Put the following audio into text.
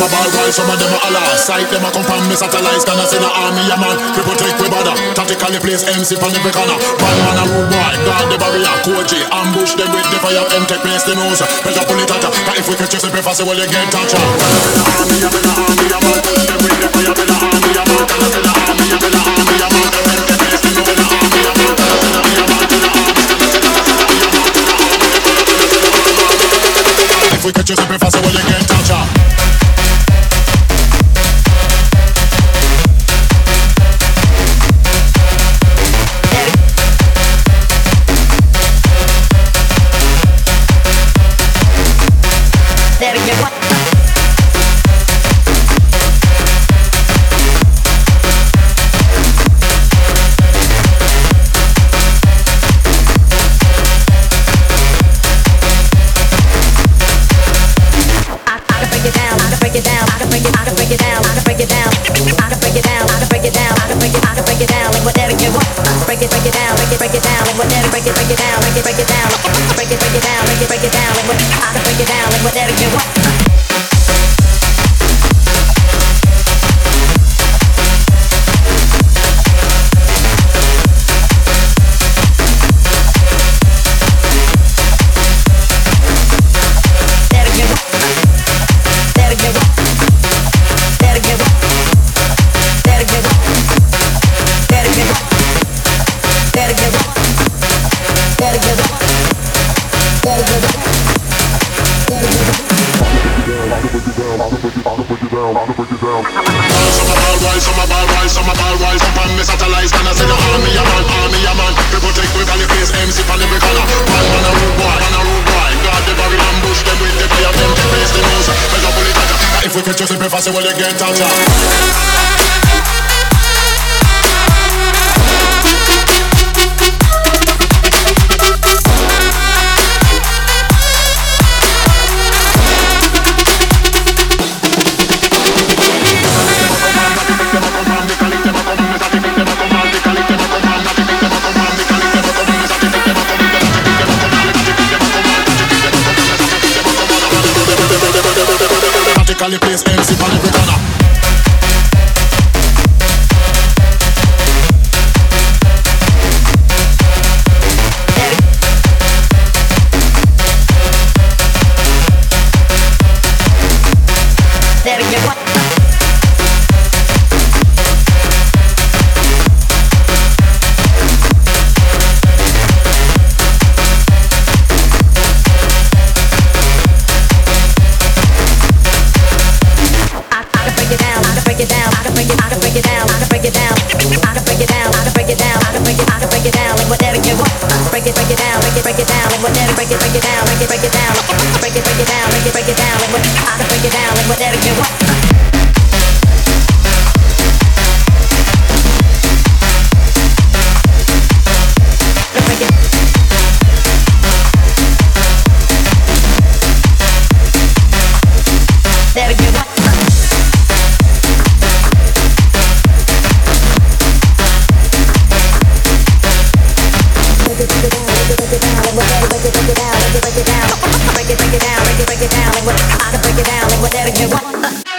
a ball while some of them a holler. Sight them a come from me satellites, can I see the army a man. People take we bother, tactically place MC on every corner. Bad man a rude boy, guard the barrier, coach it, ambush them with the fire, them take place the nose. Better pull it out, cause if we catch you slip fast, well you get touched. The army a man, push them with the fire, the army a man, can I see the army a man, them take place the nose. The army a man, can I see the army a man, if we catch you slip fast, well you get touched. If we catch you slip fast, well you get touched. Tactically place MC on every corner. Break it down, like whatever you want.